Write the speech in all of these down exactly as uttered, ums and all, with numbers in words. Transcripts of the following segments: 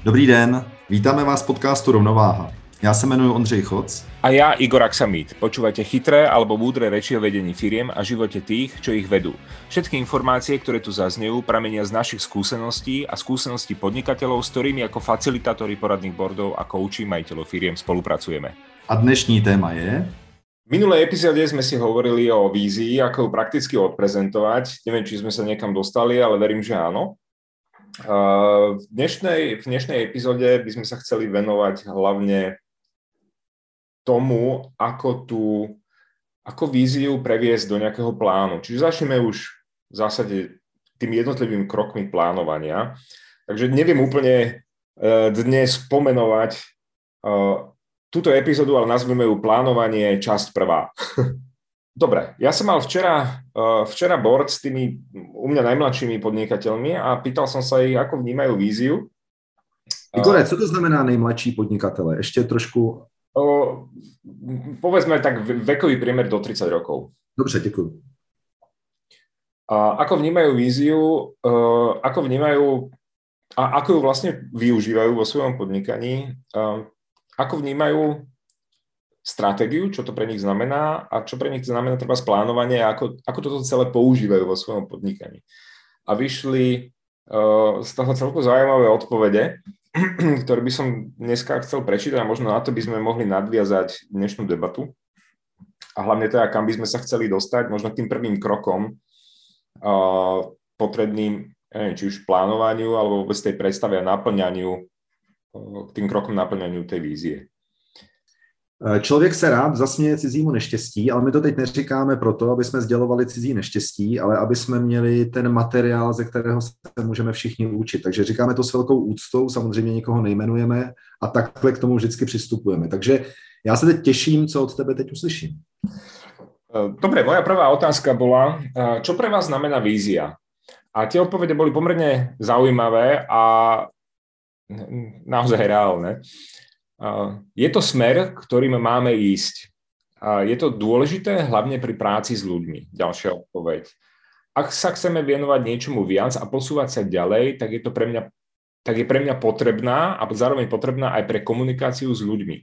Dobrý den, vítáme vás v podcastu Rovnováha. Ja sa jmenuji Ondřej Choc. A ja Igor Aksamit. Počúvate chytré alebo múdre reči o vedení firiem a živote tých, čo ich vedú. Všetky informácie, ktoré tu zaznejú, pramenia z našich skúseností a skúseností podnikateľov, s ktorými ako facilitátori poradných boardov a kouči majiteľov firiem spolupracujeme. A dnešní téma je... V minulej epizóde sme si hovorili o vízii, ako ju prakticky odprezentovať. Neviem, či sme sa niekam dostali, ale verím, že áno. V dnešnej, v dnešnej epizóde by sme sa chceli venovať hlavne tomu, ako tú, ako víziu previesť do nejakého plánu. Čiže začneme už v zásade tými jednotlivými krokmi plánovania. Takže neviem úplne dnes pomenovať túto epizódu, ale nazveme ju plánovanie časť prvá. Dobre, ja som mal včera, včera board s tými u mňa najmladšími podnikateľmi a pýtal som sa ich, ako vnímajú víziu. Igore, co to znamená nejmladší podnikatele? Ešte trošku... O, povedzme tak vekový priemer do tridsať rokov. Dobře, děkuji. A ako vnímajú víziu, ako vnímajú a ako ju vlastne využívajú vo svojom podnikaní, ako vnímajú stratégiu, čo to pre nich znamená a čo pre nich znamená treba splánovanie a ako, ako toto celé používajú vo svojom podnikaní. A vyšli uh, z toho celku zaujímavé odpovede, ktoré by som dneska chcel prečítať a možno na to by sme mohli nadviazať dnešnú debatu. A hlavne teda, kam by sme sa chceli dostať, možno tým prvým krokom uh, potrebným, neviem, či už plánovaniu alebo vôbec tej predstave a naplňaniu, uh, tým krokom naplňaniu tej vízie. Člověk se rád zasměje cizímu neštěstí, ale my to teď neříkáme proto, aby jsme sdělovali cizí neštěstí, ale aby jsme měli ten materiál, ze kterého se můžeme všichni učit. Takže říkáme to s velkou úctou, samozřejmě nikoho nejmenujeme a takhle k tomu vždycky přistupujeme. Takže já se teď těším, co od tebe teď uslyším. Dobre, moja prvá otázka bola, čo pre vás znamená vízia? A tie odpovede boli pomerne zaujímavé a naozaj reálne. Je to smer, ktorým máme ísť. Je to dôležité hlavne pri práci s ľuďmi. Ďalšia odpoveď. Ak sa chceme venovať niečomu viac a posúvať sa ďalej, tak je to pre mňa, tak je pre mňa potrebná a zároveň potrebná aj pre komunikáciu s ľuďmi.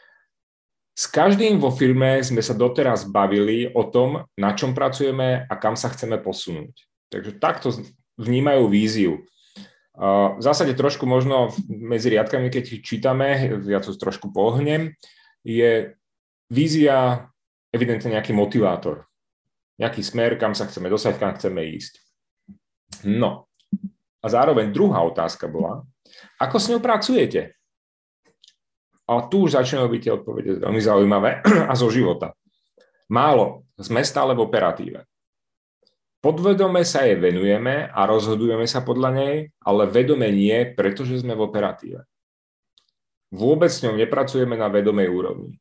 S každým vo firme sme sa doteraz bavili o tom, na čom pracujeme a kam sa chceme posunúť. Takže takto vnímajú víziu. V zásade trošku možno medzi riadkami, keď čítame, ja to trošku pohnem, je vízia evidentne nejaký motivátor. Nejaký smer, kam sa chceme dostať, kam chceme ísť. No. A zároveň druhá otázka bola, ako s ňou pracujete? A tu už začínajú byť tie odpovede veľmi zaujímavé a zo života. Málo, sme stále v operatíve. Podvedome sa jej venujeme a rozhodujeme sa podľa nej, ale vedome nie, pretože sme v operatíve. Vôbec s ňou nepracujeme na vedomej úrovni.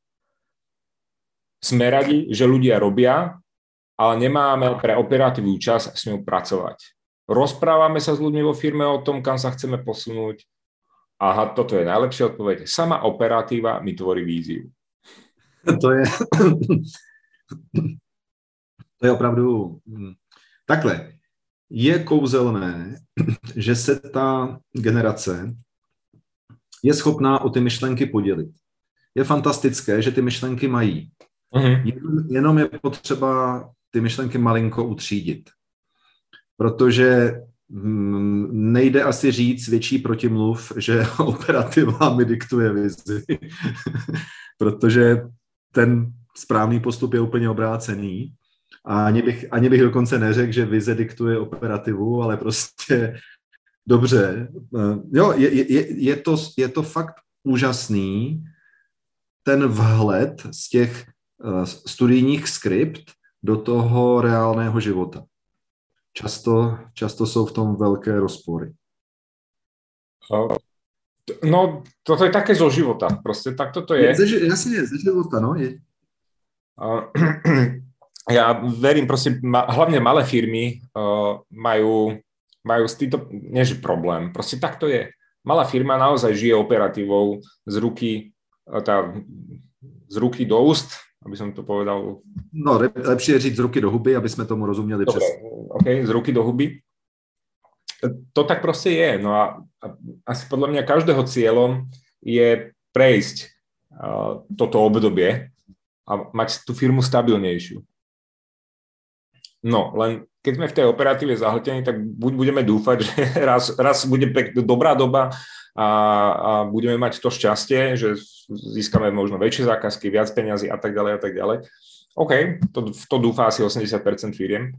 Sme radi, že ľudia robia, ale nemáme pre operatívu čas s ňou pracovať. Rozprávame sa s ľuďmi vo firme o tom, kam sa chceme posunúť. Aha, toto je najlepšia odpoveď. Sama operatíva mi tvorí víziu. To je... To je opravdu... Takhle, je kouzelné, že se ta generace je schopná o ty myšlenky podělit. Je fantastické, že ty myšlenky mají. Uh-huh. Jenom je potřeba ty myšlenky malinko utřídit. Protože nejde asi říct větší protimluv, že operativa mi diktuje vizi. Protože ten správný postup je úplně obrácený. A ani bych, ani bych dokonce neřekl, že vize diktuje operativu, ale prostě dobře. Jo, je, je, je, to, je to fakt úžasný, ten vhled z těch uh, studijních skript do toho reálného života. Často, často jsou v tom velké rozpory. No, toto je také zo života. Proste takto to je. je jasne, ze života, no. Je. Uh, Ja verím, proste, ma, hlavne malé firmy uh, majú, majú s týmto, nie že problém, proste tak to je. Malá firma naozaj žije operatívou z ruky, uh, tá, z ruky do úst, aby som to povedal. No, lepšie je říct z ruky do huby, aby sme tomu rozumieli. Dobre, přesne. OK, z ruky do huby. to tak proste je. No a, a asi podľa mňa každého cieľom je prejsť uh, toto obdobie a mať tú firmu stabilnejšiu. No, len keď sme v tej operatíve zahltení, tak buď budeme dúfať, že raz, raz bude pek, dobrá doba a, a budeme mať to šťastie, že získame možno väčšie zákazky, viac peňazí a tak ďalej a tak ďalej. OK, to, to dúfá asi osemdesiat percent firiem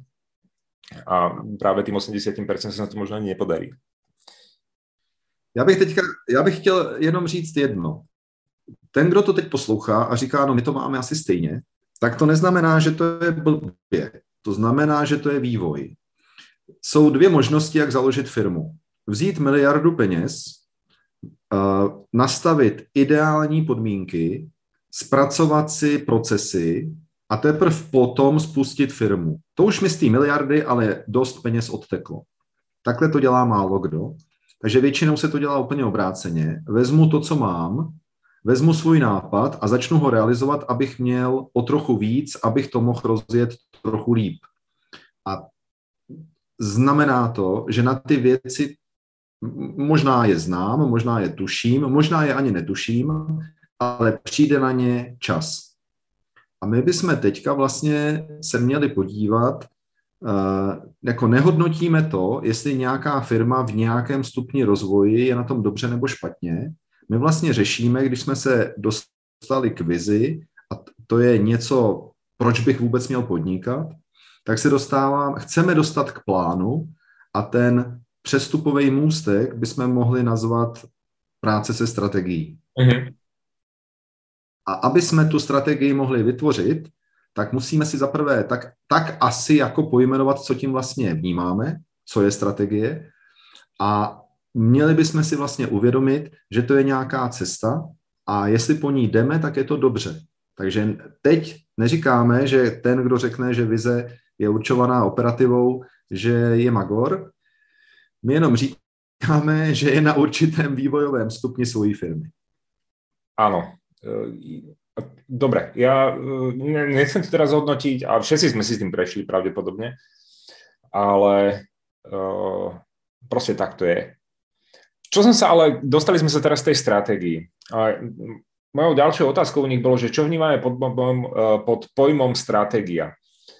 a práve tým osemdesiat percent sa to možno ani nepodarí. Já bych teďka, já bych chtěl jenom říct jedno. Ten, kdo to teď poslouchá a říká, no my to máme asi stejně, tak to neznamená, že to je blbě. To znamená, že to je vývoj. Jsou dvě možnosti, jak založit firmu. Vzít miliardu peněz, nastavit ideální podmínky, zpracovat si procesy a teprve potom spustit firmu. To už mi z té miliardy, ale dost peněz odteklo. Takhle to dělá málo kdo. Takže většinou se to dělá úplně obráceně. Vezmu to, co mám, vezmu svůj nápad a začnu ho realizovat, abych měl o trochu víc, abych to mohl rozjet trochu líp. A znamená to, že na ty věci možná je znám, možná je tuším, možná je ani netuším, ale přijde na ně čas. A my bychom teďka vlastně se měli podívat, jako nehodnotíme to, jestli nějaká firma v nějakém stupni rozvoji je na tom dobře nebo špatně. My vlastně řešíme, když jsme se dostali k vizi, a to je něco, proč bych vůbec měl podnikat, tak se dostávám, chceme dostat k plánu a ten přestupový můstek bychom mohli nazvat práce se strategií. Mm-hmm. A aby jsme tu strategii mohli vytvořit, tak musíme si zaprvé tak, tak asi jako pojmenovat, co tím vlastně vnímáme, co je strategie, a měli bychom si vlastně uvědomit, že to je nějaká cesta a jestli po ní jdeme, tak je to dobře. Takže teď neříkáme, že ten, kdo řekne, že vize je určovaná operativou, že je magor. My jenom říkáme, že je na určitém vývojovém stupni svojí firmy. Áno. Dobre, ja nechcem to teraz hodnotiť, a všetci sme si s tým prešli pravdepodobne, ale uh, proste tak to je. Čo som sa ale, dostali sme sa teraz z tej stratégii. A mojou ďalšou otázkou u nich bolo, že čo vnímame pod, pod pojmom stratégia.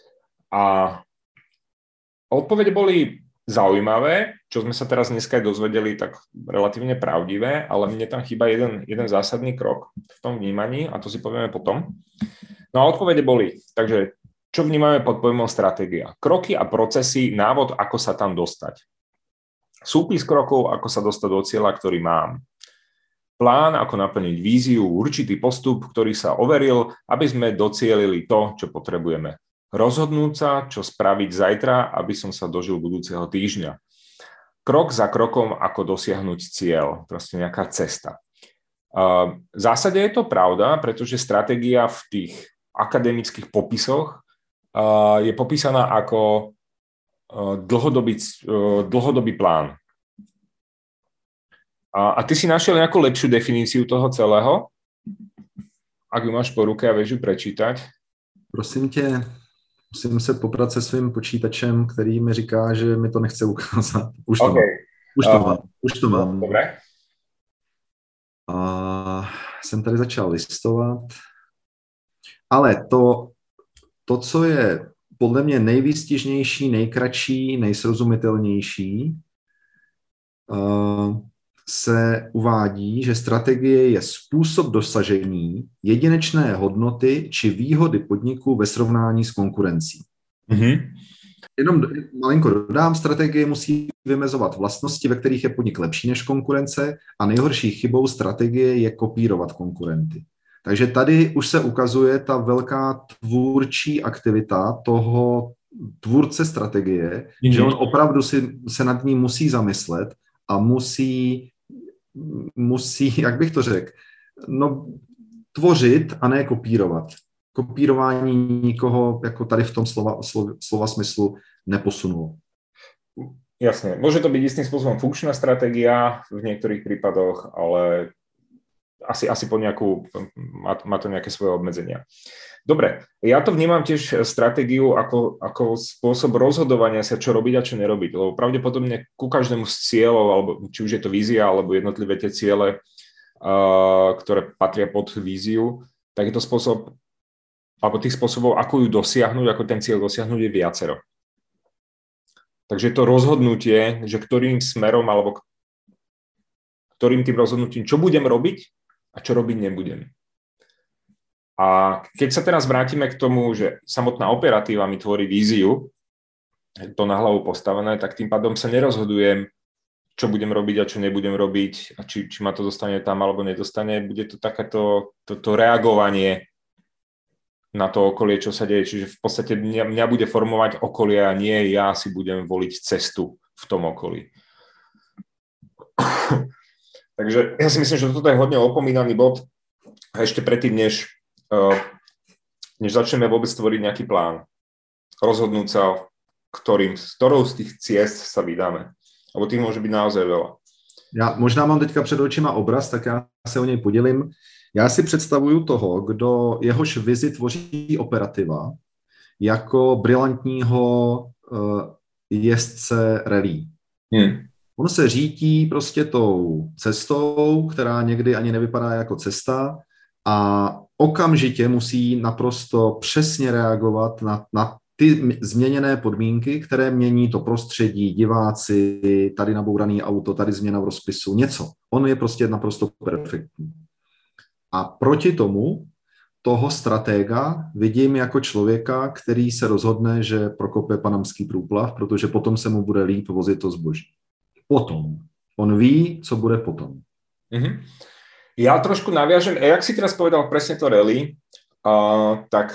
A odpovede boli zaujímavé, čo sme sa teraz dneska aj dozvedeli, tak relatívne pravdivé, ale mne tam chýba jeden, jeden zásadný krok v tom vnímaní a to si povieme potom. No a odpovede boli, takže čo vnímame pod pojmom stratégia? Kroky a procesy, návod, ako sa tam dostať. Súpis krokov, ako sa dostať do cieľa, ktorý mám. Plán, ako naplniť víziu, určitý postup, ktorý sa overil, aby sme docielili to, čo potrebujeme. Rozhodnúť sa, čo spraviť zajtra, aby som sa dožil budúceho týždňa. Krok za krokom, ako dosiahnuť cieľ, proste nejaká cesta. V zásade je to pravda, pretože stratégia v tých akademických popisoch je popísaná ako dlhodobý, dlhodobý plán. A, a ty si našiel nejakú lepšiu definíciu toho celého? Ak ju máš po ruke a vieš ju prečítať? Prosím tě, musím se poprat se svým počítačem, který mi říká, že mi to nechce ukázat. Už to okay. mám. Už to uh, mám. Už to mám. Dobré. A jsem tady začal listovat. Ale to, to, co je podle mě nejvýstižnější, nejkratší, nejsrozumitelnější, uh, se uvádí, že strategie je způsob dosažení jedinečné hodnoty či výhody podniku ve srovnání s konkurencí. Mm-hmm. Jenom malinko dodám, strategie musí vymezovat vlastnosti, ve kterých je podnik lepší než konkurence, a nejhorší chybou strategie je kopírovat konkurenty. Takže tady už se ukazuje ta velká tvůrčí aktivita toho tvůrce strategie, mm-hmm. že on opravdu si, se nad ní musí zamyslet a musí, musí, jak bych to řekl, no, tvořit a ne kopírovat. Kopírování nikoho jako tady v tom slova, slova, slova smyslu neposunulo. Jasne, môže to byť istým spôsobom funkčná stratégia v niektorých prípadoch, ale asi, asi po nejakú, má, má to nejaké svoje obmedzenia. Dobre, ja to vnímam tiež stratégiu ako, ako spôsob rozhodovania sa, čo robiť a čo nerobiť, lebo pravdepodobne ku každému z cieľov, alebo či už je to vízia, alebo jednotlivé tie ciele, uh, ktoré patria pod víziu, tak je to spôsob, alebo tých spôsobov, ako ju dosiahnuť, ako ten cieľ dosiahnuť, je viacero. Takže je to rozhodnutie, že ktorým smerom, alebo ktorým tým rozhodnutím, čo budem robiť a čo robiť nebudem. A keď sa teraz vrátime k tomu, že samotná operatíva mi tvorí víziu, to na hlavu postavené, tak tým pádom sa nerozhodujem, čo budem robiť a čo nebudem robiť a či, či ma to dostane tam alebo nedostane. Bude to takéto to, to reagovanie na to okolie, čo sa deje. Čiže v podstate mňa, mňa bude formovať okolie a nie ja si budem voliť cestu v tom okolí. Takže ja si myslím, že toto je hodne opomínaný bod. A ešte predtým, než než začneme vôbec tvoriť nejaký plán. Rozhodnúť sa, ktorým, s ktorou z tých ciest sa vydáme. Lebo tých môže byť naozaj veľa. Já možná mám teďka před očima obraz, tak já se o něj podělím. Já si představuju toho, kdo jehož vizi tvoří operativa, jako brilantního uh, jezdce rally. Hmm. On se řítí prostě tou cestou, která někdy ani nevypadá jako cesta, a okamžitě musí naprosto přesně reagovat na, na ty změněné podmínky, které mění to prostředí, diváci, tady nabouraný auto, tady změna v rozpisu, něco. On je prostě naprosto perfektní. A proti tomu toho stratega vidím jako člověka, který se rozhodne, že prokope panamský průplav, protože potom se mu bude líp vozit to zboží. Potom. On ví, co bude potom. Mm-hmm. Ja trošku naviažem, a jak si teraz povedal presne to rally, uh, tak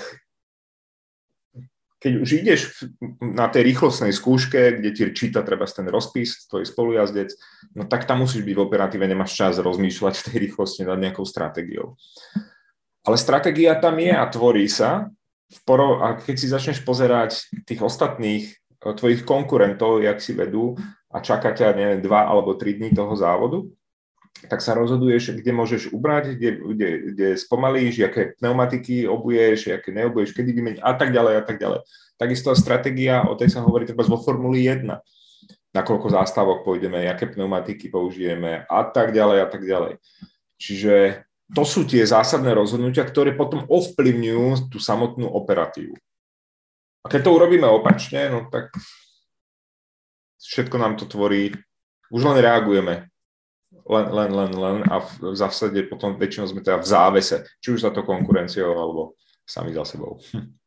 keď už ideš na tej rýchlostnej skúške, kde ti číta treba ten rozpis, tvoj spolujazdec, no tak tam musíš byť v operatíve, nemáš čas rozmýšľať v tej rýchlosti nad nejakou stratégiou. Ale stratégia tam je a tvorí sa, v poro- a keď si začneš pozerať tých ostatných tvojich konkurentov, jak si vedú a čaká ťa, neviem, dva alebo tri dní toho závodu, tak sa rozhoduješ, kde môžeš ubrať, kde, kde, kde spomalíš, aké pneumatiky obuješ, aké neobuješ, kedy vymeniť a tak ďalej a tak ďalej. Takisto stratégia, o tej sa hovorí treba vo Formuli jeden. Na koľko zástavok pôjdeme, aké pneumatiky použijeme a tak ďalej a tak ďalej. Čiže to sú tie zásadné rozhodnutia, ktoré potom ovplyvňujú tú samotnú operatívu. A keď to urobíme opačne, no tak všetko nám to tvorí, už len reagujeme. Len, len, len, len a v zásade potom väčšinou sme teda v závese, či už za to konkurenciou, alebo sami za sebou.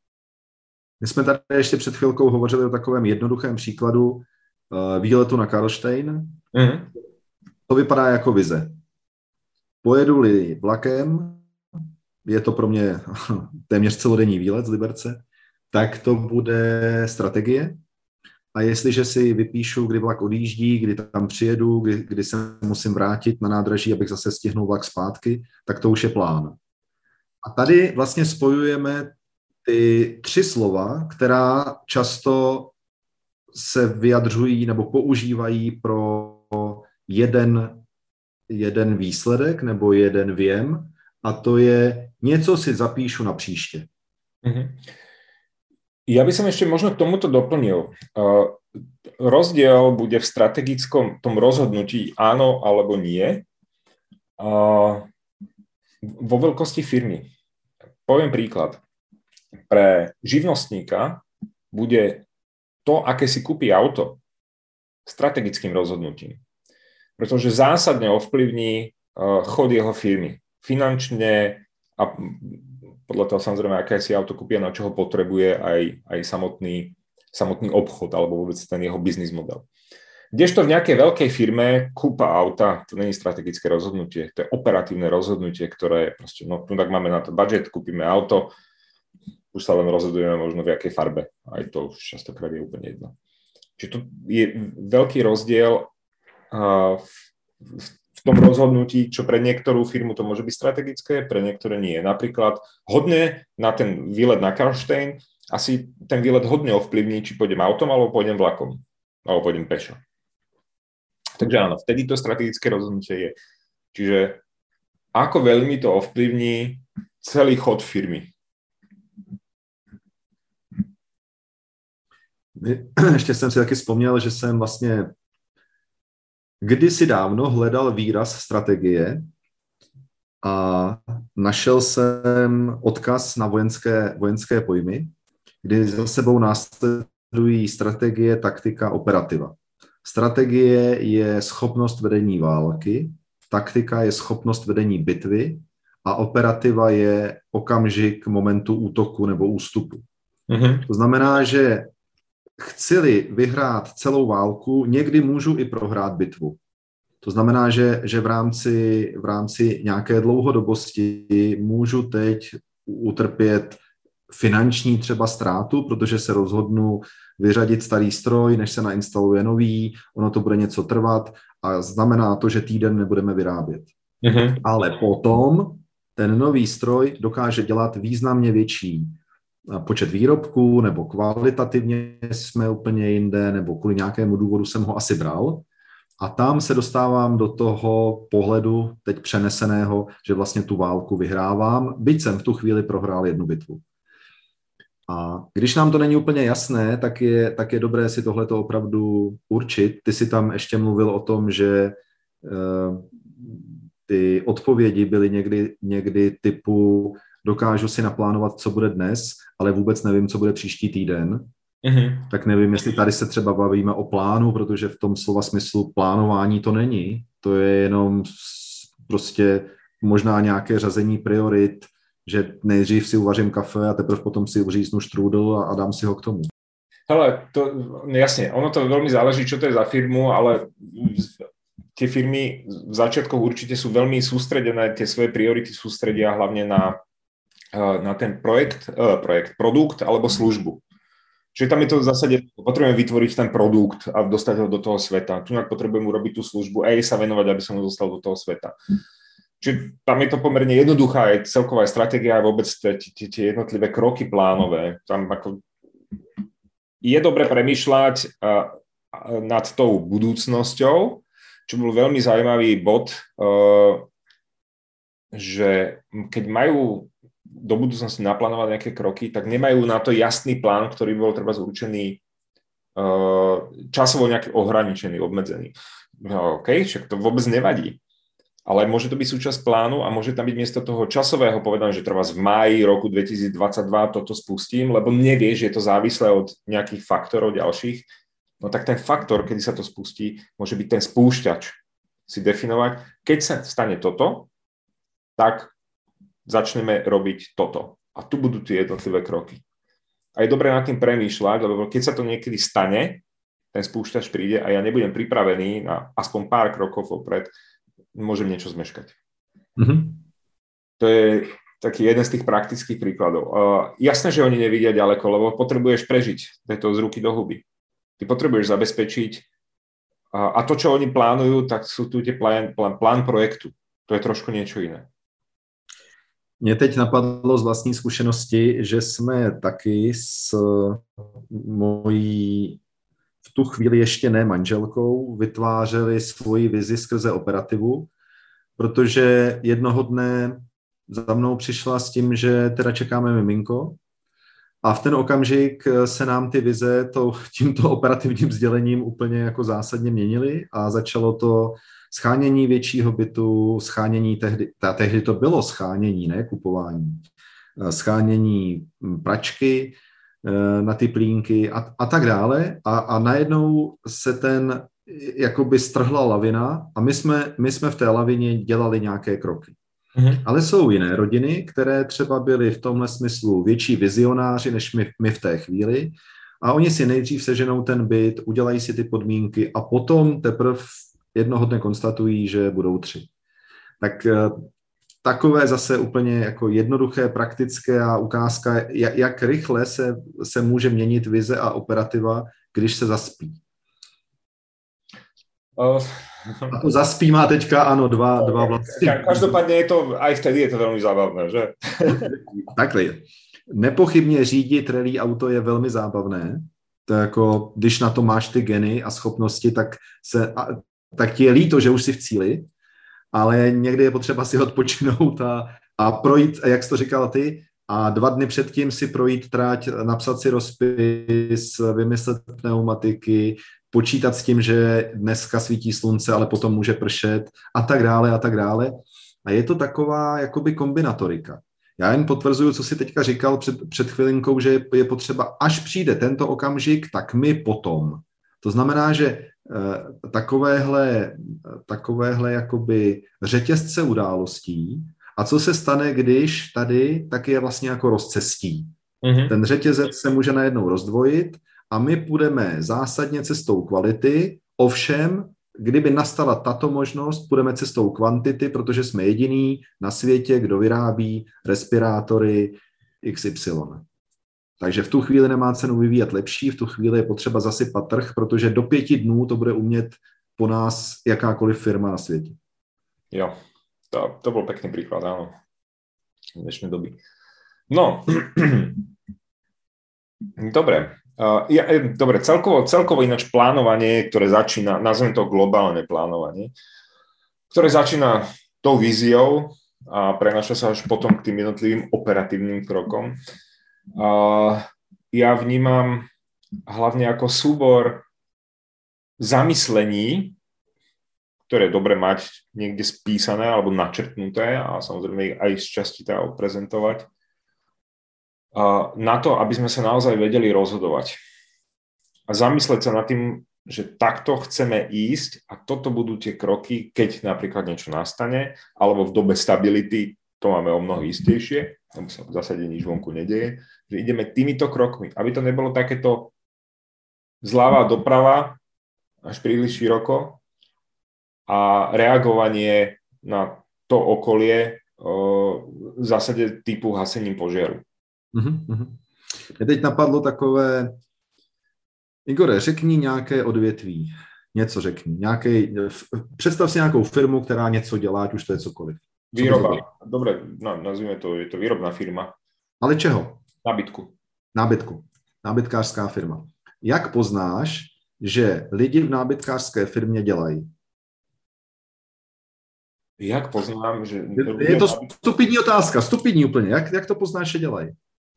My jsme tady ještě před chvilkou hovořili o takovém jednoduchém příkladu uh, výletu na Karlštejn. Mm-hmm. To vypadá jako vize. Pojedu-li vlakem, je to pro mě téměř celodenní výlet z Liberce, tak to bude strategie. A jestliže si vypíšu, kdy vlak odjíždí, kdy tam přijedu, kdy, kdy se musím vrátit na nádraží, abych zase stihnul vlak zpátky, tak to už je plán. A tady vlastně spojujeme ty tři slova, která často se vyjadřují nebo používají pro jeden, jeden výsledek nebo jeden věm, a to je něco si zapíšu na příště. Mm-hmm. Ja by som ešte možno k tomuto doplnil. Uh, rozdiel bude v strategickom tom rozhodnutí áno alebo nie uh, vo veľkosti firmy. Poviem príklad. Pre živnostníka bude to, aké si kúpi auto, strategickým rozhodnutím. Pretože zásadne ovplyvní uh, chod jeho firmy. Finančne a podľa toho samozrejme, aké si auto kúpia, na čo ho potrebuje aj, aj samotný, samotný obchod alebo vôbec ten jeho biznis model. Kdežto v nejakej veľkej firme kúpa auta, to nie je strategické rozhodnutie, to je operatívne rozhodnutie, ktoré proste, no tak máme na to budget, kúpime auto, už sa len rozhodujeme možno v jakej farbe, aj to už častokrát je úplne jedno. Čiže to je veľký rozdiel uh, v, v v tom rozhodnutí, čo pre niektorú firmu to môže byť strategické, pre niektoré nie. Napríklad hodne na ten výlet na Karlštejn, asi ten výlet hodne ovplyvní, či pôjdem autom, alebo pôjdem vlakom, alebo pôjdem pešo. Takže áno, vtedy to strategické rozhodnutie je. Čiže ako veľmi to ovplyvní celý chod firmy. Ještě jsem si taky vzpomněl, že jsem vlastně kdysi dávno hledal výraz strategie a našel jsem odkaz na vojenské, vojenské pojmy, kdy za sebou následují strategie, taktika, operativa. Strategie je schopnost vedení války, taktika je schopnost vedení bitvy a operativa je okamžik momentu útoku nebo ústupu. Mm-hmm. To znamená, že chci-li vyhrát celou válku, někdy můžu i prohrát bitvu. To znamená, že, že v, rámci, v rámci nějaké dlouhodobosti můžu teď utrpět finanční třeba ztrátu, protože se rozhodnu vyřadit starý stroj, než se nainstaluje nový, ono to bude něco trvat a znamená to, že týden nebudeme vyrábět. Mm-hmm. Ale potom ten nový stroj dokáže dělat významně větší počet výrobků, nebo kvalitativně jsme úplně jinde, nebo kvůli nějakému důvodu jsem ho asi bral. A tam se dostávám do toho pohledu teď přeneseného, že vlastně tu válku vyhrávám, byť jsem v tu chvíli prohrál jednu bitvu. A když nám to není úplně jasné, tak je, tak je dobré si tohleto opravdu určit. Ty si tam ještě mluvil o tom, že uh, ty odpovědi byly někdy, někdy typu dokážu si naplánovat, co bude dnes, ale vůbec nevím, co bude příští týden. Mm-hmm. Tak nevím, jestli tady se třeba bavíme o plánu, protože v tom slova smyslu plánování to není. To je jenom prostě možná nějaké řazení priorit, že nejdřív si uvařím kafe a teprve potom si uříznu štrúdl a, a dám si ho k tomu. Hele, to, jasne, ono to veľmi záleží, čo to je za firmu, ale tie firmy v začiatkoch určite sú veľmi sústredené, tie svoje priority sústredia hlavne na, na ten projekt, projekt, produkt alebo službu. Čiže tam je to v zásade, potrebujeme vytvoriť ten produkt a dostať ho do toho sveta. Tu potrebujem urobiť tú službu a jej sa venovať, aby som ho dostal do toho sveta. Čiže tam je to pomerne jednoduchá aj celková stratégia a vôbec tie jednotlivé kroky plánové. Tam ako je dobre premýšľať nad tou budúcnosťou, čo bol veľmi zaujímavý bod, že keď majú do budúcnosti naplánovať nejaké kroky, tak nemajú na to jasný plán, ktorý bol treba zurčený časovo nejaký ohraničený, obmedzený. No, OK, však to vôbec nevadí. Ale môže to byť súčasť plánu a môže tam byť miesto toho časového povedané, že treba v máji roku dvetisícdvadsaťdva toto spustím, lebo nevieš, že je to závislé od nejakých faktorov ďalších. No tak ten faktor, kedy sa to spustí, môže byť ten spúšťač. Si definovať, keď sa stane toto, tak začneme robiť toto. A tu budú tie jednotlivé kroky. A je dobré nad tým premýšľať, lebo keď sa to niekedy stane, ten spúšťač príde a ja nebudem pripravený na aspoň pár krokov vopred, môžem niečo zmeškať. Mm-hmm. To je taký jeden z tých praktických príkladov. Uh, jasné, že oni nevidia ďaleko, lebo potrebuješ prežiť. To je to z ruky do huby. Ty potrebuješ zabezpečiť uh, a to, čo oni plánujú, tak sú tu tie plán, plán, plán projektu. To je trošku niečo iné. Mě teď napadlo z vlastní zkušenosti, že jsme taky s mojí v tu chvíli ještě ne manželkou vytvářeli svoji vizi skrze operativu, protože jednoho dne za mnou přišla s tím, že teda čekáme miminko a v ten okamžik se nám ty vize to, tímto operativním sdělením úplně jako zásadně měnily a začalo to schánění většího bytu, schánění tehdy, ta, tehdy to bylo schánění, ne kupování, schánění pračky na ty plínky a, a tak dále a, a najednou se ten jakoby strhla lavina a my jsme, my jsme v té lavině dělali nějaké kroky. Mm-hmm. Ale jsou jiné rodiny, které třeba byly v tomhle smyslu větší vizionáři než my, my v té chvíli a oni si nejdřív seženou ten byt, udělají si ty podmínky a potom teprve jednoho dne konstatují, že budou tři. Tak takové zase úplně jako jednoduché, praktické a ukázka, jak, jak rychle se, se může měnit vize a operativa, když se zaspí. Uh, a to zaspí má teďka, ano, dva, dva vlastně. Každopádně je to, aj vtedy je to velmi zábavné, že? Takhle. Nepochybně řídit rally auto je velmi zábavné. To jako, když na to máš ty geny a schopnosti, tak, se, tak ti je líto, že už jsi v cíli, ale někdy je potřeba si odpočinout a, a projít, jak jsi to říkal ty, a dva dny předtím si projít trať, napsat si rozpis, vymyslet pneumatiky, počítat s tím, že dneska svítí slunce, ale potom může pršet a tak dále a tak dále. A je to taková jakoby kombinatorika. Já jen potvrzuju, co jsi teďka říkal před, před chvilinkou, že je potřeba, až přijde tento okamžik, tak my potom. To znamená, že eh, takovéhle, takovéhle jakoby řetězce událostí, a co se stane, když tady, tak je vlastně jako rozcestí. Mm-hmm. Ten řetězec se může najednou rozdvojit a my půjdeme zásadně cestou kvality, ovšem, kdyby nastala tato možnost, půjdeme cestou kvantity, protože jsme jediný na světě, kdo vyrábí respirátory iks ypsilon. Takže v tu chvíli nemá cenu vyvíjet lepší, v tu chvíli je potřeba zasypat trh, protože do pěti dnů to bude umět po nás jakákoliv firma na světě. Jo, to, to bol pekný príklad, áno, v dnešnej doby. No, dobre. Uh, ja, dobre, celkovo, celkovo ináč plánovanie, ktoré začína, nazvem to globálne plánovanie, ktoré začína tou víziou a prenáša sa až potom k tým jednotlivým operatívnym krokom. Uh, ja vnímam hlavne ako súbor zamyslení, ktoré je dobre mať niekde spísané alebo načrtnuté a samozrejme aj z časti teda odprezentovať, na to, aby sme sa naozaj vedeli rozhodovať. A zamysleť sa nad tým, že takto chceme ísť a toto budú tie kroky, keď napríklad niečo nastane, alebo v dobe stability, to máme o mnoho istejšie, lebo sa v zásade nič vonku nedeje, že ideme týmito krokmi, aby to nebolo takéto zľava doprava až príliš široko a reagovanie na to okolie v zásade typu hasením požiaru. Uhum. Mě teď napadlo takové, Igore, řekni nějaké odvětví, něco řekni, nějaký, představ si nějakou firmu, která něco dělá, ať už to je cokoliv. Výroba, dobre, no, nazvíme to, je to výrobná firma. Ale čeho? Nábytku. Nábytku, nábytkářská firma. Jak poznáš, že lidi v nábytkářské firmě dělají? Jak poznám, že... Je to stupidní otázka, stupidní úplně. Jak, jak to poznáš, že dělají?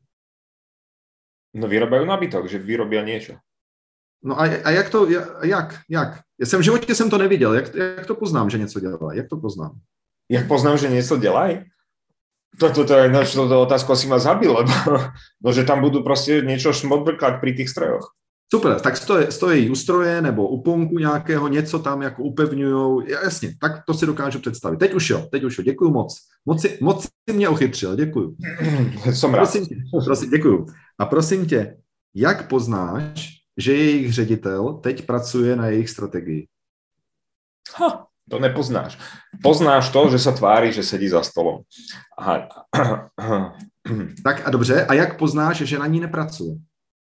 No vyrobajú nábytok, že vyrobia niečo. No a, a jak to, jak, jak? Ja jsem v životě jsem to neviděl. Jak, jak to poznám, že něco dělají? Jak to poznám? Jak poznám, že něco dělají? Toto to je, no, to otázku asi ma zabil, lebo no, že tam budú proste niečo šmodbrkať pri tých strojoch. Super, tak stojí, stojí u stroje nebo u ponku nějakého, něco tam jako upevňujou. Jasně, tak to si dokážu představit. Teď už jo, teď už jo, děkuju moc. Moc si, moc si mě ochytřil, děkuju. Som rád. Prosím tě, prosím, děkuju. A prosím tě, jak poznáš, že jejich ředitel teď pracuje na jejich strategii? Ha, to nepoznáš. Poznáš to, že sa tváří, že sedí za stolom. Aha. Tak a dobře, a jak poznáš, že na ní nepracuje?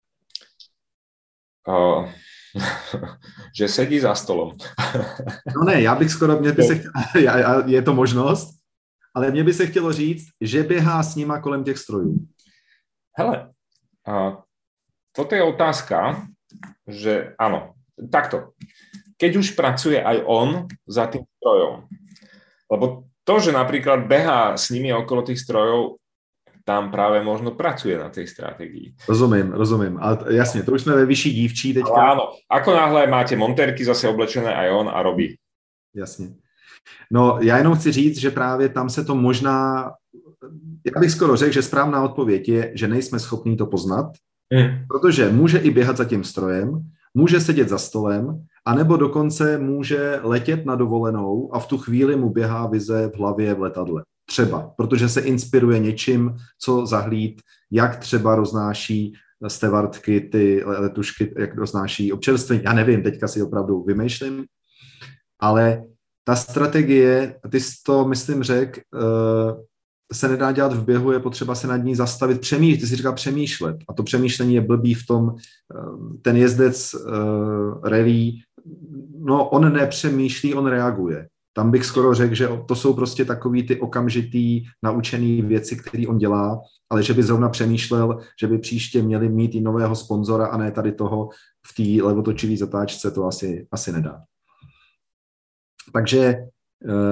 Uh, že sedí za stolom. No ne, já bych skoro, mě by se chtělo, je to možnost, ale mně by se chtělo říct, že běhá s nima kolem těch strojů. Hele, uh, toto je otázka, že áno, takto. Keď už pracuje aj on za tým strojom, lebo to, že napríklad behá s nimi okolo tých strojov, tam práve možno pracuje na tej stratégii. Rozumím, rozumím. Ale jasne, to už sme ve vyšší dívčí teďka. Ale áno, ako náhle máte montérky zase oblečené aj on a robí. Jasně. No, já jenom chci říct, že právě tam se to možná, já bych skoro řekl, že správná odpověď je, že nejsme schopní to poznat, mm. protože může i běhat za tím strojem, může sedět za stolem, anebo dokonce může letět na dovolenou a v tu chvíli mu běhá vize v hlavě v letadle. Třeba, protože se inspiruje něčím, co zahlíd, jak třeba roznáší stevardky, ty letušky, jak roznáší občerstvení. Já nevím, teďka si opravdu vymýšlím, ale ta strategie, ty jsi to, myslím, řekl, se nedá dělat v běhu, je potřeba se nad ní zastavit, přemýšlet, ty jsi říkal přemýšlet. A to přemýšlení je blbý v tom, ten jezdec rally, no on nepřemýšlí, on reaguje. Tam bych skoro řekl, že to jsou prostě takový ty okamžitý naučený věci, které on dělá, ale že by zrovna přemýšlel, že by příště měli mít i nového sponzora a ne tady toho v té levotočivý zatáčce, to asi, asi nedá. Takže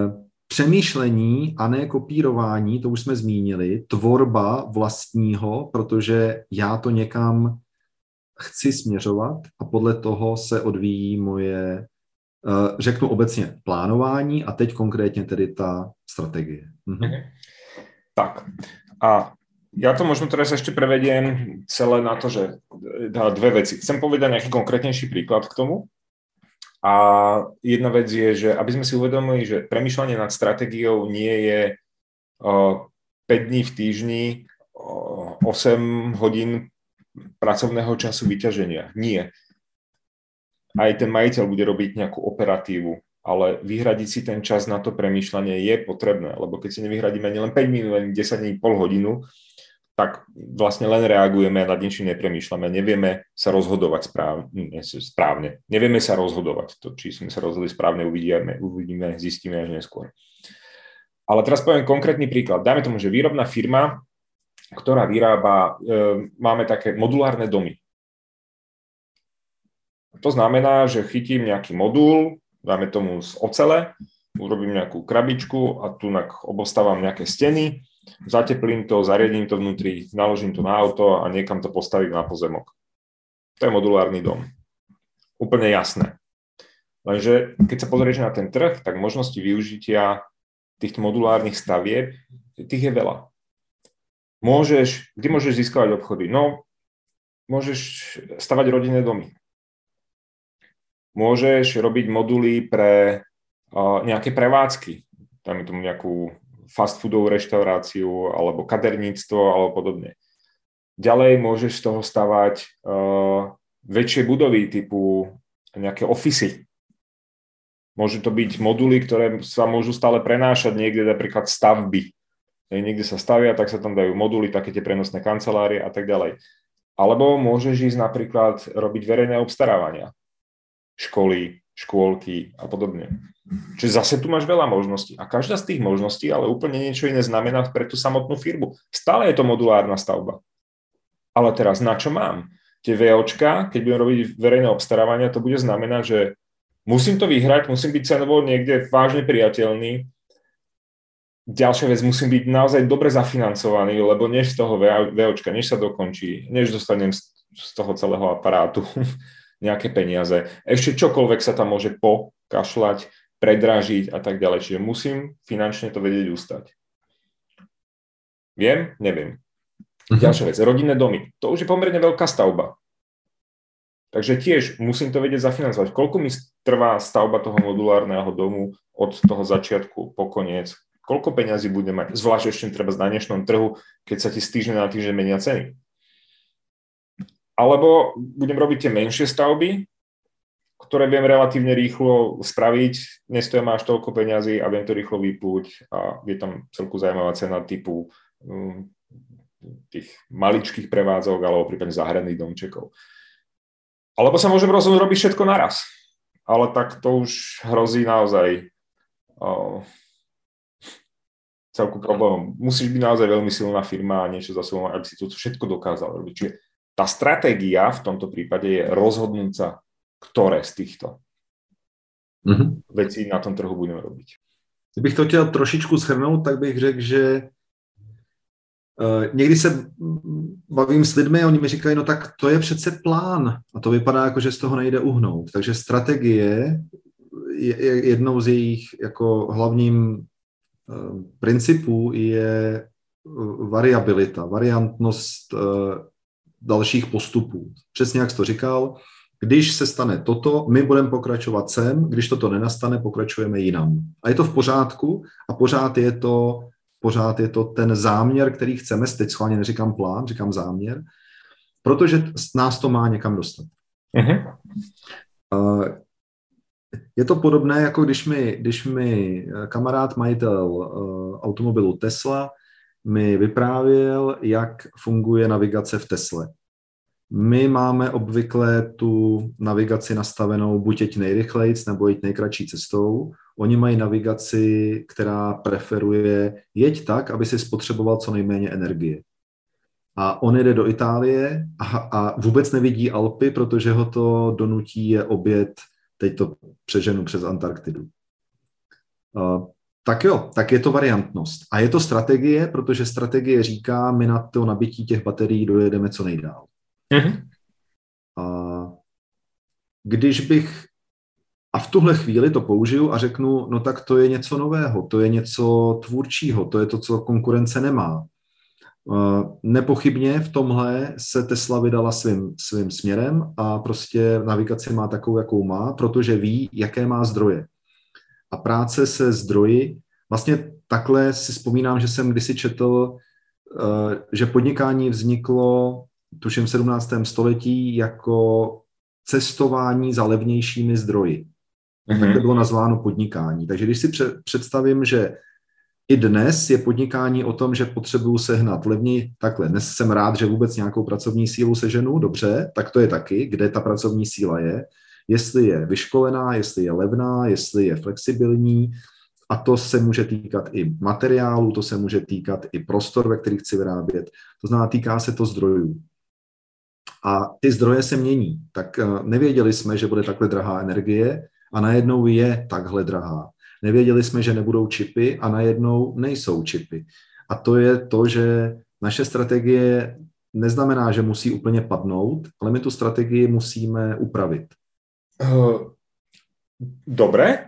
přemýšlení a ne kopírování, to už jsme zmínili, tvorba vlastního, protože já to někam chci směřovat a podle toho se odvíjí moje, řeknu obecně, plánování a teď konkrétně tedy ta strategie. Mhm. Tak a ja to možno teraz ešte prevediem celé na to, že dve veci. Chcem povedať nejaký konkrétnejší príklad k tomu. A jedna vec je, že aby sme si uvedomili, že premýšľanie nad stratégiou nie je uh, päť dní v týždni, uh, osem hodín pracovného času vyťaženia. Nie. Aj ten majiteľ bude robiť nejakú operatívu, ale vyhradiť si ten čas na to premýšľanie je potrebné, lebo keď si nevyhradíme ani len päť minút, ani desať dní, pol hodinu, tak vlastne len reagujeme a nad ničím nepremýšľame. Nevieme sa rozhodovať správne. správne. Nevieme sa rozhodovať. To, či sme sa rozhodli správne, uvidíme, uvidíme, zistíme až neskôr. Ale teraz poviem konkrétny príklad. Dajme tomu, že výrobná firma, ktorá vyrába, e, máme také modulárne domy. To znamená, že chytím nejaký modul, dáme tomu z ocele, urobím nejakú krabičku a tu obostávam nejaké steny, zateplím to, zariadím to vnútri, naložím to na auto a niekam to postavím na pozemok. To je modulárny dom. Úplne jasné. Lenže keď sa pozrieš na ten trh, tak možnosti využitia týchto modulárnych stavieb, tých je veľa. Môžeš, kde môžeš získavať obchody? No, môžeš stavať rodinné domy. Môžeš robiť moduly pre uh, nejaké prevádzky. Dáme tomu nejakú fast foodovú reštauráciu alebo kaderníctvo alebo podobne. Ďalej môžeš z toho stavať uh, väčšie budovy typu nejaké ofisy. Môžu to byť moduly, ktoré sa môžu stále prenášať niekde, napríklad stavby. Niekde sa stavia, tak sa tam dajú moduly, také tie prenosné kancelárie a tak ďalej. Alebo môžeš ísť napríklad robiť verejné obstarávania. Školy, škôlky a podobne. Čiže zase tu máš veľa možností. A každá z tých možností ale úplne niečo iné znamená pre tú samotnú firmu. Stále je to modulárna stavba. Ale teraz na čo mám? Tie VOčka, keď budem robiť verejné obstarávania, to bude znamenať, že musím to vyhrať, musím byť cenovo niekde vážne priateľný. Ďalšia vec, musím byť naozaj dobre zafinancovaný, lebo než z toho VOčka, než sa dokončí, než dostanem z toho celého aparátu nejaké peniaze, ešte čokoľvek sa tam môže pokašľať, predražiť a tak ďalej. Čiže musím finančne to vedieť ustať. Viem? Neviem. Uh-huh. Ďalšia vec, rodinné domy. To už je pomerne veľká stavba. Takže tiež musím to vedieť zafinancovať. Koľko mi trvá stavba toho modulárneho domu od toho začiatku po koniec? Koľko peňazí bude mať? Zvlášť ešte treba na dnešnom trhu, keď sa ti z týždňa na týždeň menia ceny. Alebo budem robiť tie menšie stavby, ktoré viem relatívne rýchlo spraviť, nestoja ma až toľko peňazí a viem to rýchlo vyplúť a je tam celku zaujímavá cena typu um, tých maličkých prevádzok alebo prípadne záhradných domčekov. Alebo sa môžem rozhodnúť robiť všetko naraz. Ale tak to už hrozí naozaj uh, celku problémom. Musíš byť naozaj veľmi silná firma a niečo za sebou, aby si to všetko dokázal robiť. Čiže tá stratégia v tomto prípade je rozhodnúť sa, ktoré z týchto mm-hmm. vecí na tom trhu budeme robiť. Kdybych to chtěl trošičku shrnout, tak bych řekl, že uh, někdy se bavím s lidmi a oni mi říkají, no tak to je přece plán a to vypadá jako, že z toho nejde uhnout. Takže strategie je, je jednou z jejich jako hlavním uh, principů je uh, variabilita, variantnost uh, dalších postupů. Přesně jak jsi to říkal, když se stane toto, my budeme pokračovat sem, když toto nenastane, pokračujeme jinam. A je to v pořádku a pořád je to, pořád je to ten záměr, který chceme, teď schválně neříkám plán, říkám záměr, protože nás to má někam dostat. Uh-huh. Je to podobné, jako když mi, když mi kamarád, majitel automobilu Tesla, mi vyprávěl, jak funguje navigace v Tesle. My máme obvykle tu navigaci nastavenou buď jeď nejrychlejc, nebo jeď nejkratší cestou. Oni mají navigaci, která preferuje jeď tak, aby si spotřeboval co nejméně energie. A on jede do Itálie a, a vůbec nevidí Alpy, protože ho to donutí je obět, teď to přeženu přes Antarktidu. Tak jo, tak je to variantnost. A je to strategie, protože strategie říká, my na to nabití těch baterií dojedeme co nejdál. Mm-hmm. A když bych a v tuhle chvíli to použiju a řeknu, no tak to je něco nového, to je něco tvůrčího, to je to, co konkurence nemá. Nepochybně v tomhle se Tesla vydala svým, svým směrem a prostě navigaci má takovou, jakou má, protože ví, jaké má zdroje. A práce se zdroji, vlastně takhle si vzpomínám, že jsem kdysi četl, že podnikání vzniklo, tuším v sedmnáctém století, jako cestování za levnějšími zdroji. Mm-hmm. Tak to bylo nazváno podnikání. Takže když si představím, že i dnes je podnikání o tom, že potřebuju sehnat levněji, takhle, dnes jsem rád, že vůbec nějakou pracovní sílu seženu, dobře, tak to je taky, kde ta pracovní síla je, jestli je vyškolená, jestli je levná, jestli je flexibilní, a to se může týkat i materiálu, to se může týkat i prostor, ve kterých chci vyrábět, to znamená, týká se to zdrojů. A ty zdroje se mění, tak nevěděli jsme, že bude takhle drahá energie a najednou je takhle drahá. Nevěděli jsme, že nebudou čipy a najednou nejsou čipy. A to je to, že naše strategie neznamená, že musí úplně padnout, ale my tu strategii musíme upravit. Dobre.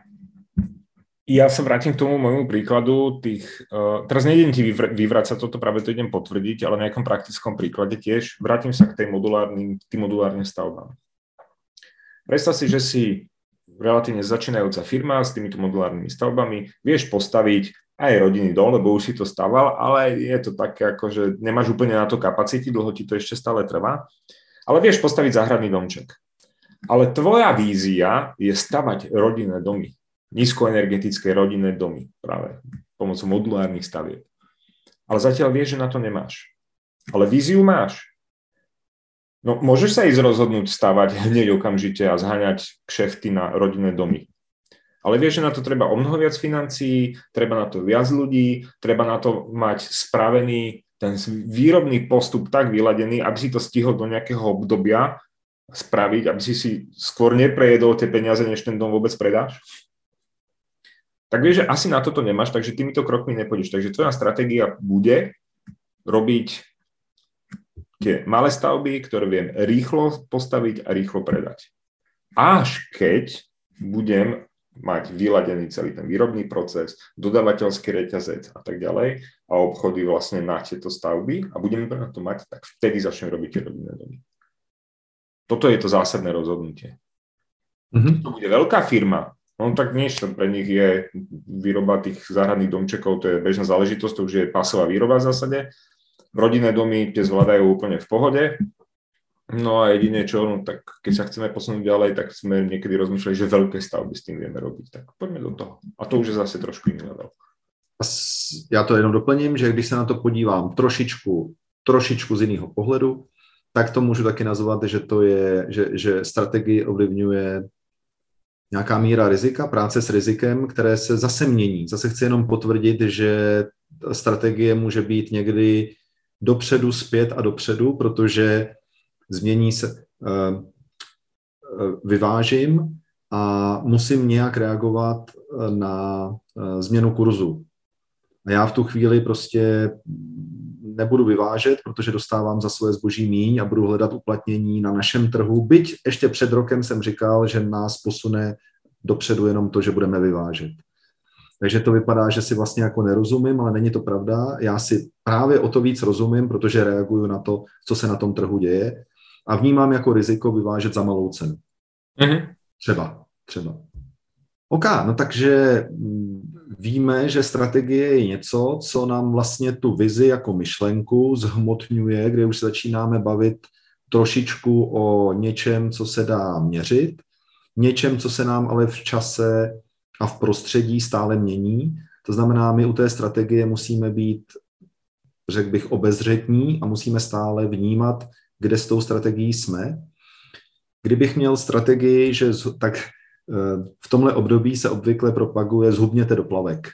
Ja sa vrátim k tomu môjmu príkladu tých, uh, teraz nejdem ti vyvr- vyvracať toto, práve to idem potvrdiť, ale na nejakom praktickom príklade tiež. Vrátim sa k tej modulárnym, tým modulárnym stavbám. Predstav si, že si relatívne začínajúca firma s týmito modulárnymi stavbami, vieš postaviť aj rodinný dom, lebo už si to staval, ale je to také, ako, že nemáš úplne na to kapacity, dlho ti to ešte stále trvá, ale vieš postaviť záhradný domček. Ale tvoja vízia je stavať rodinné domy, nízkoenergetické rodinné domy, práve pomocou modulárnych stavieb. Ale zatiaľ vieš, že na to nemáš. Ale víziu máš. No, môžeš sa ísť rozhodnúť stavať hneď okamžite a zháňať kšefty na rodinné domy. Ale vieš, že na to treba o mnoho viac financií, treba na to viac ľudí, treba na to mať spravený ten výrobný postup tak vyladený, aby si to stihol do nejakého obdobia spraviť, aby si si skôr neprejedol tie peniaze, než ten dom vôbec predáš. Tak vieš, že asi na toto nemáš, takže týmito krokmi nepôjdeš. Takže tvoja stratégia bude robiť tie malé stavby, ktoré viem rýchlo postaviť a rýchlo predať. Až keď budem mať vyladený celý ten výrobný proces, dodávateľský reťazec a tak ďalej a obchody vlastne na tieto stavby a budeme na to mať, tak vtedy začnem robiť tie rodinné domy. Toto je to zásadné rozhodnutie. Mm-hmm. To bude veľká firma, no tak niečo pre nich je výroba tých záhradných domčekov, to je bežná záležitosť, to už je pasová výroba v zásade. Rodinné domy tie zvládajú úplne v pohode. No a jedine čo, no tak keď sa chceme posunúť ďalej, tak sme niekedy rozmýšľali, že veľké stavby s tým vieme robiť. Tak poďme do toho. A to už je zase trošku iný level. Já to jenom doplním, že když se na to podívám trošičku, trošičku z jiného pohledu, tak to můžu taky nazvat, že to je, že, že strategii ovlivňuje nějaká míra rizika, práce s rizikem, které se zase mění. Zase chci jenom potvrdit, že strategie může být někdy dopředu, zpět a dopředu, protože změní se, vyvážím a musím nějak reagovat na změnu kurzu. A já v tu chvíli prostě nebudu vyvážet, protože dostávám za svoje zboží míň a budu hledat uplatnění na našem trhu. Byť ještě před rokem jsem říkal, že nás posune dopředu jenom to, že budeme vyvážet. Takže to vypadá, že si vlastně jako nerozumím, ale není to pravda. Já si právě o to víc rozumím, protože reaguju na to, co se na tom trhu děje a vnímám jako riziko vyvážet za malou cenu. Mm-hmm. Třeba, třeba. OK, no takže víme, že strategie je něco, co nám vlastně tu vizi jako myšlenku zhmotňuje, kde už začínáme bavit trošičku o něčem, co se dá měřit, něčem, co se nám ale v čase a v prostředí stále mění. To znamená, my u té strategie musíme být, řekl bych, obezřetní a musíme stále vnímat, kde s tou strategií jsme. Kdybych měl strategii, že tak v tomhle období se obvykle propaguje zhubněte do plavek.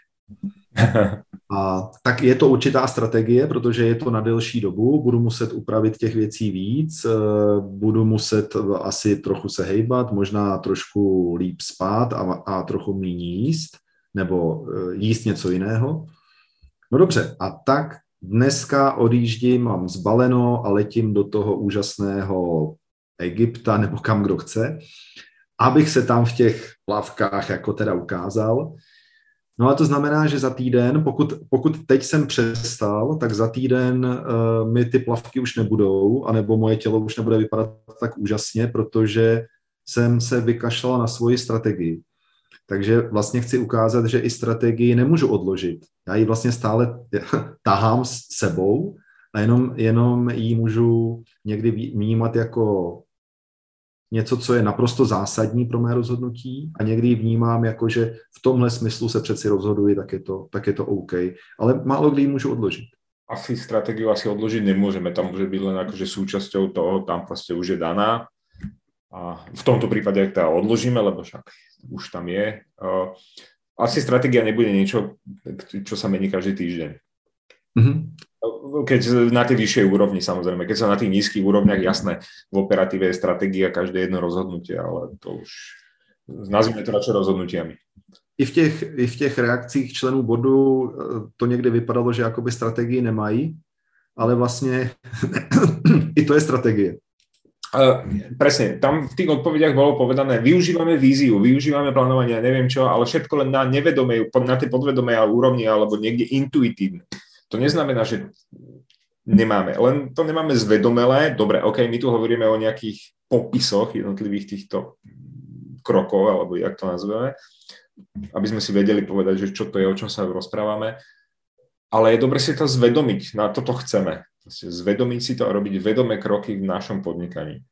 A tak je to určitá strategie, protože je to na delší dobu, budu muset upravit těch věcí víc, budu muset asi trochu se hejbat, možná trošku líp spát a, a trochu méně jíst, nebo jíst něco jiného. No dobře, a tak dneska odjíždím, mám zbaleno a letím do toho úžasného Egypta nebo kam kdo chce, abych se tam v těch plavkách jako teda ukázal. No a to znamená, že za týden, pokud, pokud teď jsem přestal, tak za týden uh, mi ty plavky už nebudou, anebo moje tělo už nebude vypadat tak úžasně, protože jsem se vykašlal na svoji strategii. Takže vlastně chci ukázat, že i strategii nemůžu odložit. Já ji vlastně stále tahám s sebou a jenom, jenom ji můžu někdy vnímat jako něco, co je naprosto zásadní pro mé rozhodnutí a někdy ji vnímám jako, že v tomhle smyslu se přeci rozhoduji, tak je to, tak je to OK. Ale málo kdy ji můžu odložit. Asi stratégiu asi odložiť nemôžeme, tam môže byť len akože súčasťou toho, tam proste už je daná. A v tomto prípade ak teda odložíme, lebo však už tam je. Asi stratégia nebude niečo, čo sa mení každý týždeň. Mm-hmm. Keď na tej vyššej úrovni, samozrejme. Keď sa na tých nízkych úrovniach, jasné, v operatíve je stratégia každé jedno rozhodnutie, ale to už nazvime to radšej rozhodnutiami. I v těch, i v těch reakcích členů bodu to někdy vypadalo, že jakoby strategii nemají, ale vlastně i to je strategie. Uh, presne, tam v tých odpovediach bolo povedané, využívame víziu, využívame plánovanie, neviem čo, ale všetko len na nevedomej, na tej podvedomej úrovni alebo niekde intuitívne. To neznamená, že nemáme, len to nemáme zvedomelé. Dobre, ok, my tu hovoríme o nejakých popisoch jednotlivých týchto krokov, alebo jak to nazveme, aby sme si vedeli povedať, že čo to je, o čom sa rozprávame. Ale je dobre si to zvedomiť, na toto chceme. Zvedomiť si to a robiť vedomé kroky v našom podnikaní.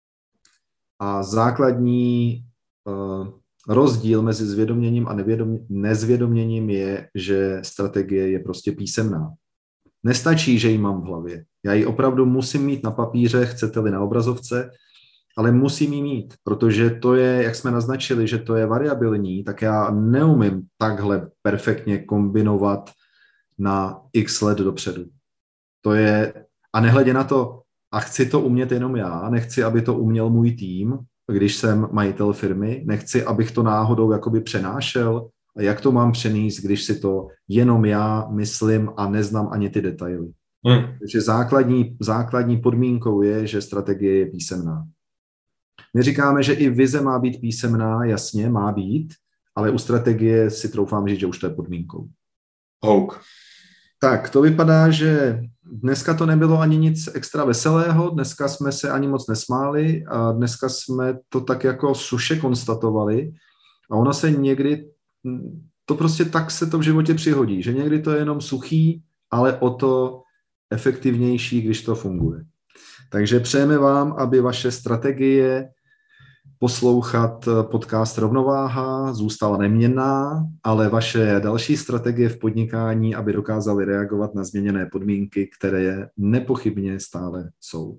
A základní uh, rozdíl mezi zvědoměním a nevědom, nezvědoměním je, že strategie je prostě písemná. Nestačí, že ji mám v hlavě. Já ji opravdu musím mít na papíře, chcete-li na obrazovce, ale musím ji mít, protože to je, jak jsme naznačili, že to je variabilní, tak já neumím takhle perfektně kombinovat na x let dopředu. To je, a nehledě na to, a chci to umět jenom já, nechci, aby to uměl můj tým, když jsem majitel firmy, nechci, abych to náhodou jakoby přenášel, a jak to mám přenést, když si to jenom já myslím a neznám ani ty detaily. Hmm. Takže základní, základní podmínkou je, že strategie je písemná. My říkáme, že i vize má být písemná, jasně, má být, ale u strategie si troufám říct, že už to je podmínkou. Houk. Tak, to vypadá, že dneska to nebylo ani nic extra veselého, dneska jsme se ani moc nesmáli a dneska jsme to tak jako suše konstatovali a ono se někdy, to prostě tak se to v životě přihodí, že někdy to je jenom suchý, ale o to efektivnější, když to funguje. Takže přejeme vám, aby vaše strategie poslouchat podcast Rovnováha zůstala neměnná, ale vaše další strategie v podnikání, aby dokázaly reagovat na změněné podmínky, které nepochybně stále jsou.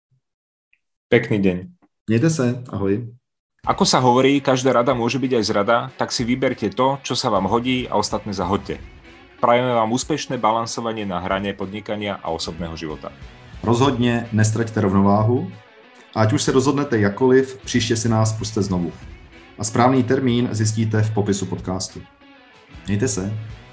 Pekný deň. Mějte se, ahoj. Ako sa hovorí, každá rada môže byť aj zrada, tak si vyberte to, čo sa vám hodí a ostatné zahoďte. Prajeme vám úspešné balansovanie na hrane podnikania a osobného života. Rozhodně nestraťte rovnováhu. Ať už se rozhodnete jakkoliv, příště si nás pusťte znovu. A správný termín zjistíte v popisu podcastu. Mějte se.